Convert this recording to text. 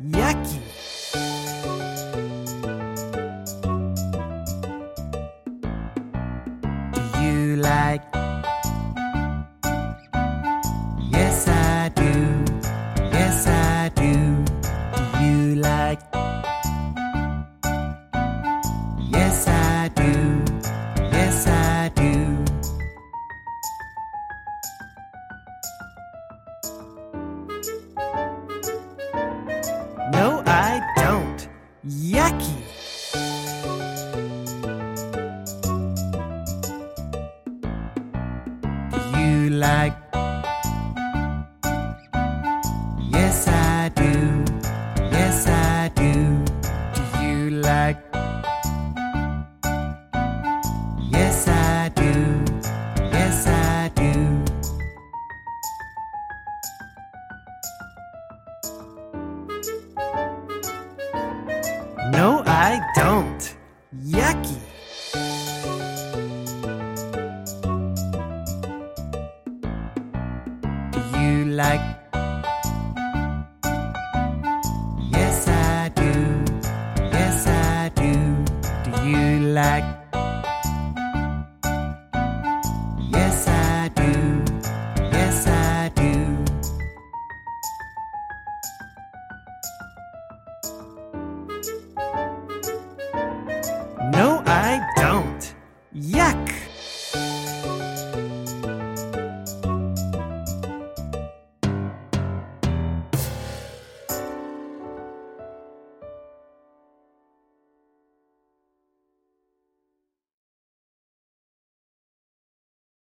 Yucky. Do you like? Yes, I do. Yes, I do. Do you like? Yes, I do. Yes, I do. No, I don't. Yucky. Do you like? Yes, I do. Yes, I do. Do you like? Yes, I do. Yes, I do. No, I don't. Yucky. Do you like? Yes, I do. Yes, I do. Do you like? Yes, I do. Yes, I do. No, I don't. Yuck!